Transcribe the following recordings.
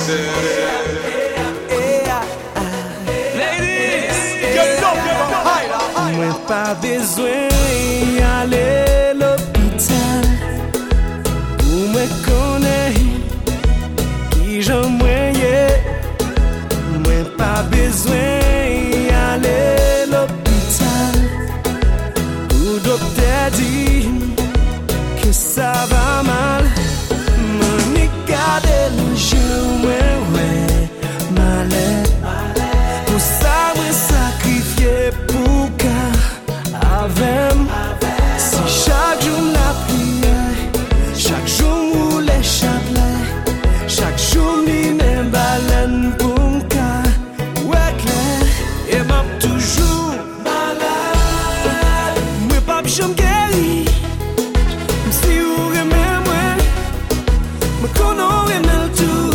Mwen pa bezwen ale l'hôpital pou mwen konen ki jan mwen ye. Mwen pa bezwen ale l'hôpital pou dokter di que ça va mal. Mwen ni gade l'jou mwen wè malè. Pou sa mwen sakrifye pou avem. Si chaque jour n'a prié, chaque jour où les châtelets, chaque jour ni même baleine pour m'ka ouais clair. Et m'a toujours malade. Moi pas j'aime guéri. Si vous aimez moi, me connais remel tout.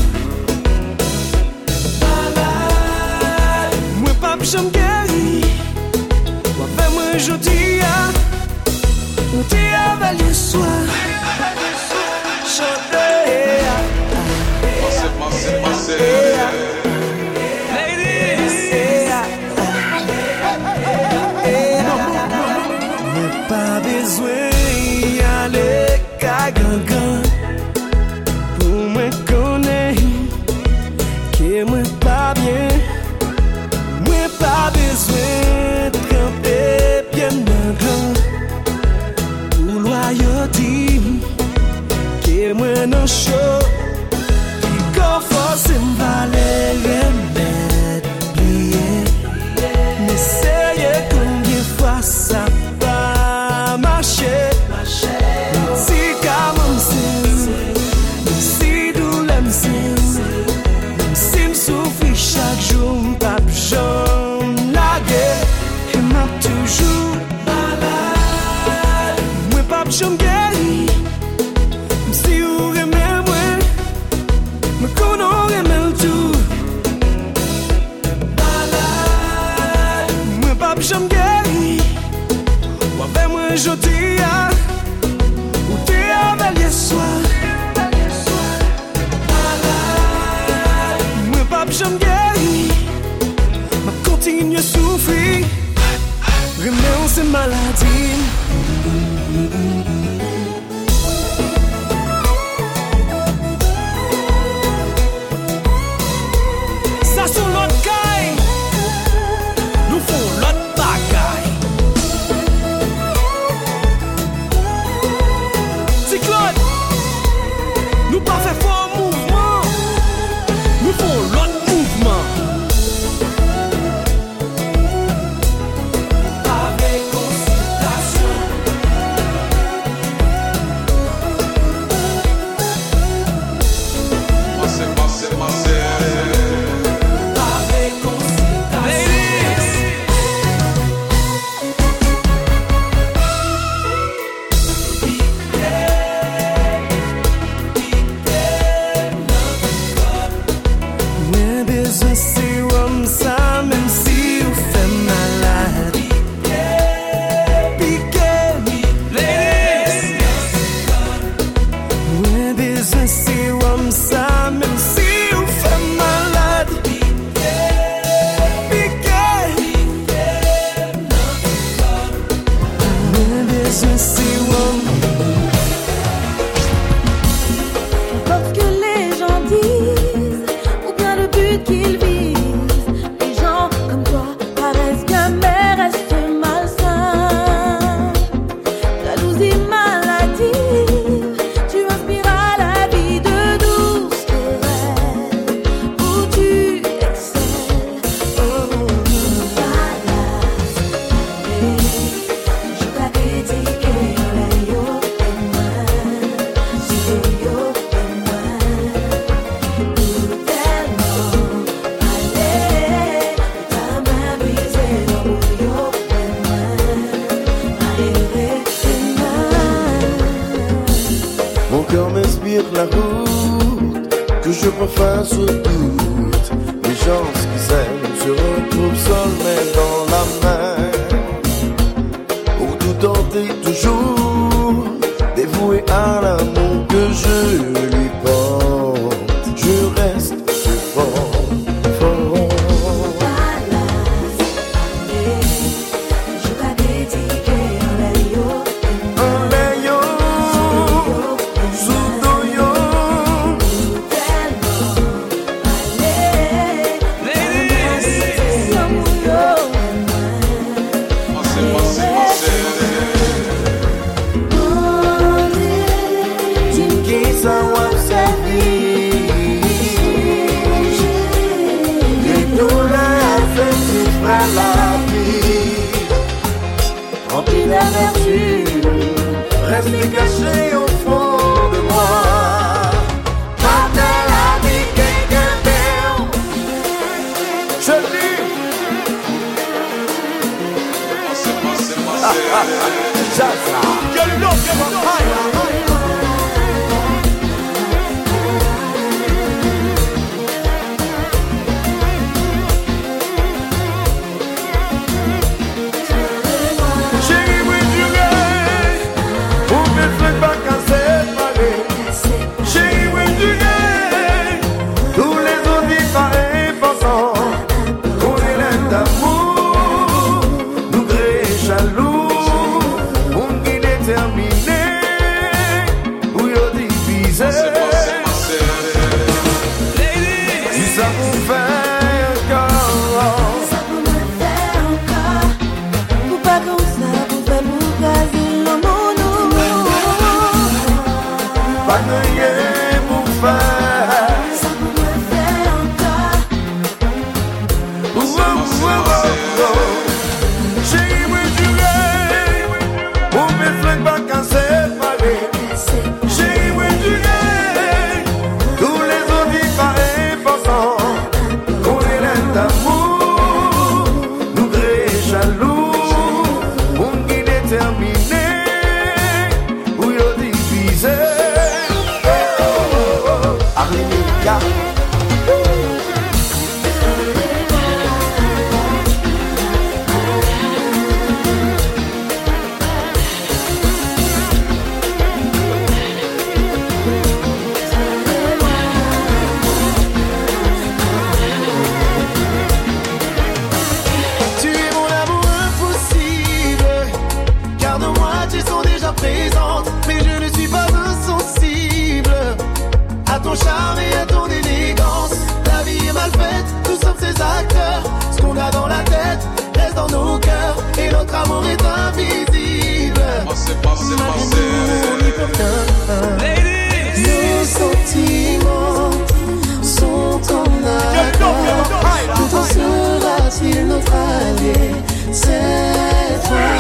Malade. Moi pas j'aime guéri. Aujourd'hui, on t'y avait le soir. Chanter. N'a pas besoin d'y aller gagangan pour me connaître que moi pas bien. Moi pas besoin de camper bien grand pour loyauté que moi non chaud qui qu'on force m'valer remède plier. N'essayez combien fois ça va marcher. Si comme si douleur si m'souffrir chaque jour m'pas j'en laguer. Et m'a toujours malade. Moi pas j'en guéri. Si vous aimez moi, me connais remel tout. Malade. Moi pas j'en guéri. Ou avec moi aujourd'hui, ou t'es avec les soirs. Malade. Moi pas j'en guéri. Ma continue souffrir. Remets ces maladies. Ça sur l'autre caille, nous font l'autre bagaille. Cyclone, nous pas fait fort mouvement, nous font l'autre mouvement. la route que je préfère sur doute. Les gens qui s'aiment se retrouvent seuls mais dans la main. Pour tout tenter toujours, dévoué à l'amour que je lui porte. Je reste ça vous fait encore. Ça vous me fait encore. Ou pas comme ça, vous faites vous caser l'amour nous. Pas de rien pour faire. Ça vous me fait encore. Chérie, moi tu gagnes. Pour mes flingues pas qu'à séparer. Chérie, moi tu gagnes. Tous les autres vivent pas importants. On est là d'amour. Nous créer jaloux. On qui déterminé. Où y'a divisé. Alléluia. Tu es mon amour impossible, car de moitié sont déjà présentes, mais je ne suis pas insensible à ton charme et à ton élégance. La vie est mal faite, nous sommes ses acteurs. Ce qu'on a dans la tête reste dans nos cœurs, et notre amour est invisible. Nos sentiments sont en accord. Tout en sera-t-il notre allié cette fois?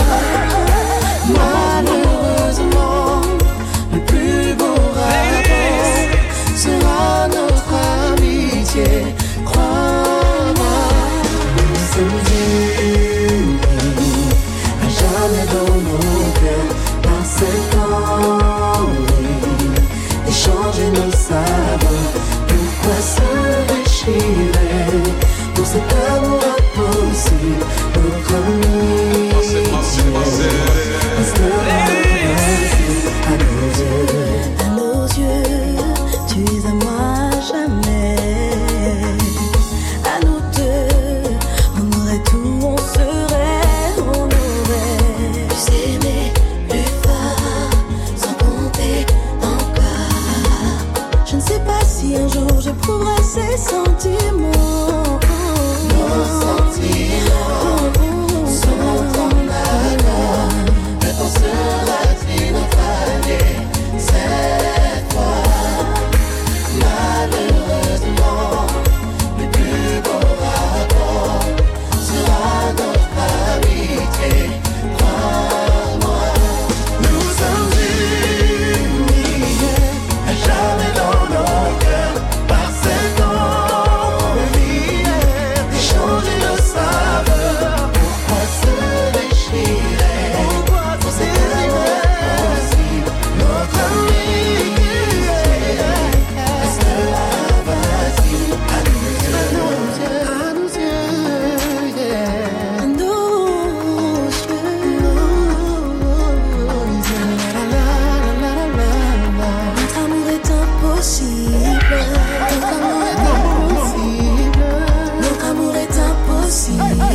Malheureusement, le plus beau rapport sera notre amitié. Crois-moi, nous sommes unis à jamais dans nos cœurs par cette envie d'échanger nos saveurs. Pourquoi se déchirer pour cet amour impossible? Notre amitié restera facile à nos yeux. À nos yeux, tu es à moi jamais. À nous deux, on aurait tout, on serait, on aurait pu s'aimer plus fort, sans compter encore. Je ne sais pas si un jour j'éprouverai ces sentiments. Nos sentiments sont en accord. Le temps sera-t-il notre allié cette fois? Malheureusement, le plus beau rapport sera notre amitié. Crois-moi, nous sommes unis à jamais dans nos cœurs par cette envie d'échanger nos saveurs. Pourquoi se déchirer? Pour cet amour impossible? Notre amitié restera facile à nos yeux. À nos yeux, yeah. À nos yeux, notre amour est impossible. Notre amour est impossible.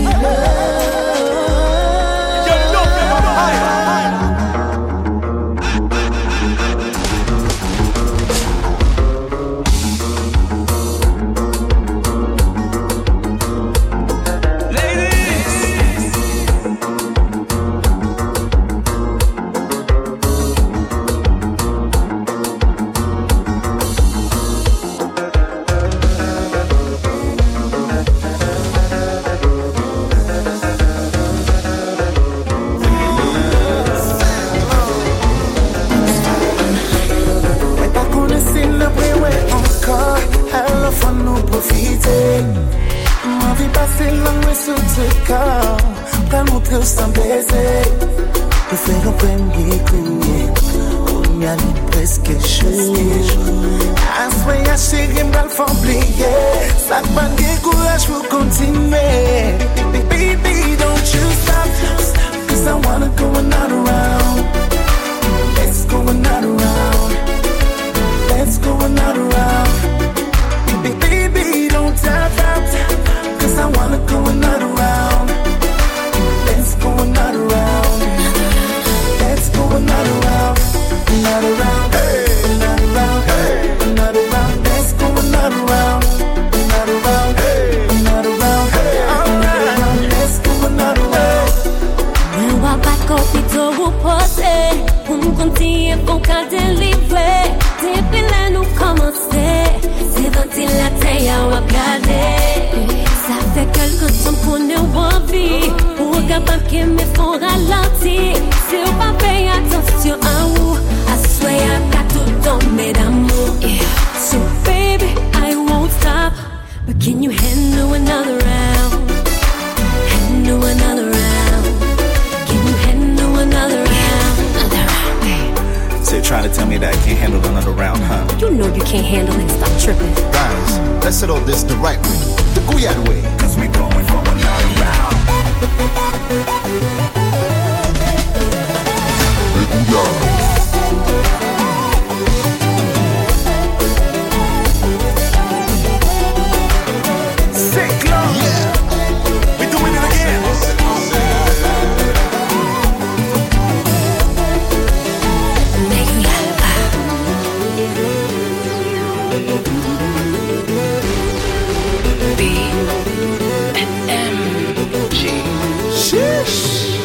Mais pas qu'on essaie le bruit, ouais, encore. Alors faut nous profiter. M'envie passer la nuit sur ce corps. Pas montrer sans baiser. Pour faire un premier coup. On y a mis presque chaud. Assoyez, chérie, m'gal faut oublier. Ça va me courage pour continuer. Baby, don't you stop. Cause I wanna go another round. Let's go another round. Let's go another round. Baby, don't stop. Cause I wanna go another round. Let's go another round. Let's go another round. Another round. Another round. Another round. Let's go another round. aller. Ça fait quelque temps qu'on est envie. Pour capable que me font ralentir. Si on pas payer attention à vous, I swear I got tout tomber d'amour. Yeah. So baby, I won't stop. But can you handle another round? Handle another round. Can you handle another round? Another round, babe. So you're trying to tell me that I can't handle another round, huh? You know you can't handle it. Stop tripping. Guys, let's settle this the right way, the Guyad way. Cause we going for another round. Sick love. Yeah. We doing it again. BMG. Sheesh.